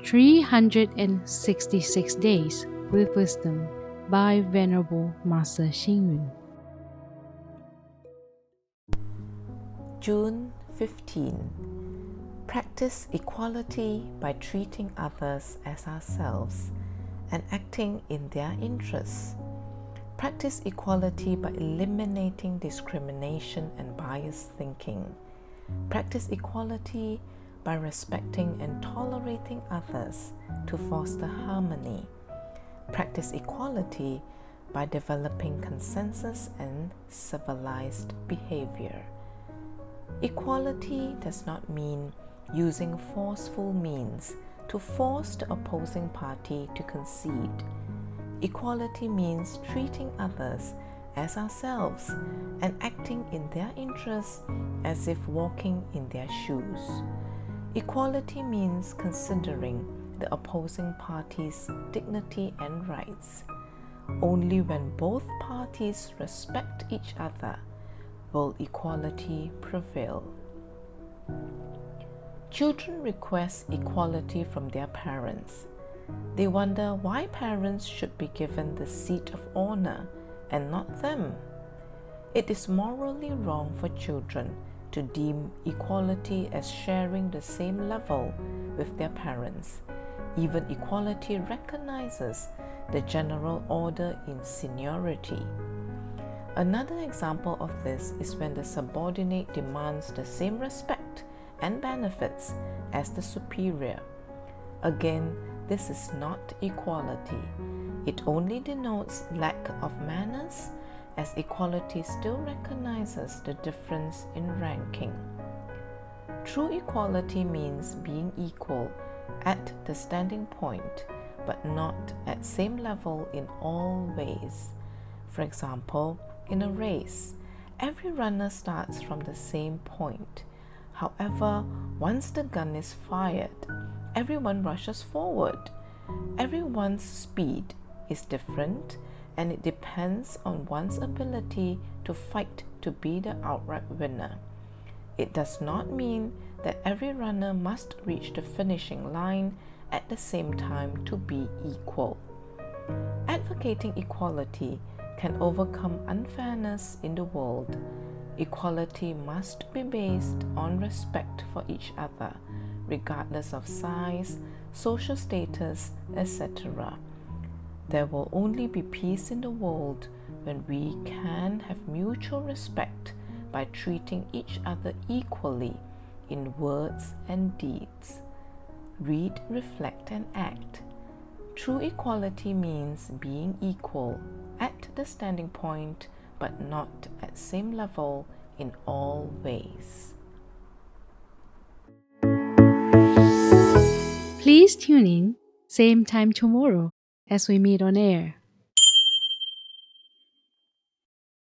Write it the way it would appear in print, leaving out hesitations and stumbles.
366 Days with Wisdom by Venerable Master Xing Yun. June 15. Practice equality by treating others as ourselves and acting in their interests. Practice equality by eliminating discrimination and biased thinking. Practice equality by respecting and tolerating others to foster harmony. Practice equality by developing consensus and civilized behavior. Equality does not mean using forceful means to force the opposing party to concede. Equality means treating others as ourselves and acting in their interests as if walking in their shoes. Equality means considering the opposing party's dignity and rights. Only when both parties respect each other will equality prevail. Children request equality from their parents. They wonder why parents should be given the seat of honor and not them. It is morally wrong for children to deem equality as sharing the same level with their parents. Even equality recognizes the general order in seniority. Another example of this is when the subordinate demands the same respect and benefits as the superior. Again, this is not equality. It only denotes lack of manners, as equality still recognizes the difference in ranking. True equality means being equal at the standing point, but not at same level in all ways. For example, in a race, every runner starts from the same point. However, once the gun is fired, everyone rushes forward. Everyone's speed is different, and it depends on one's ability to fight to be the outright winner. It does not mean that every runner must reach the finishing line at the same time to be equal. Advocating equality can overcome unfairness in the world. Equality must be based on respect for each other, regardless of size, social status, etc. There will only be peace in the world when we can have mutual respect by treating each other equally in words and deeds. Read, reflect, and act. True equality means being equal at the standing point, but not at same level in all ways. Please tune in, same time tomorrow as we meet on air.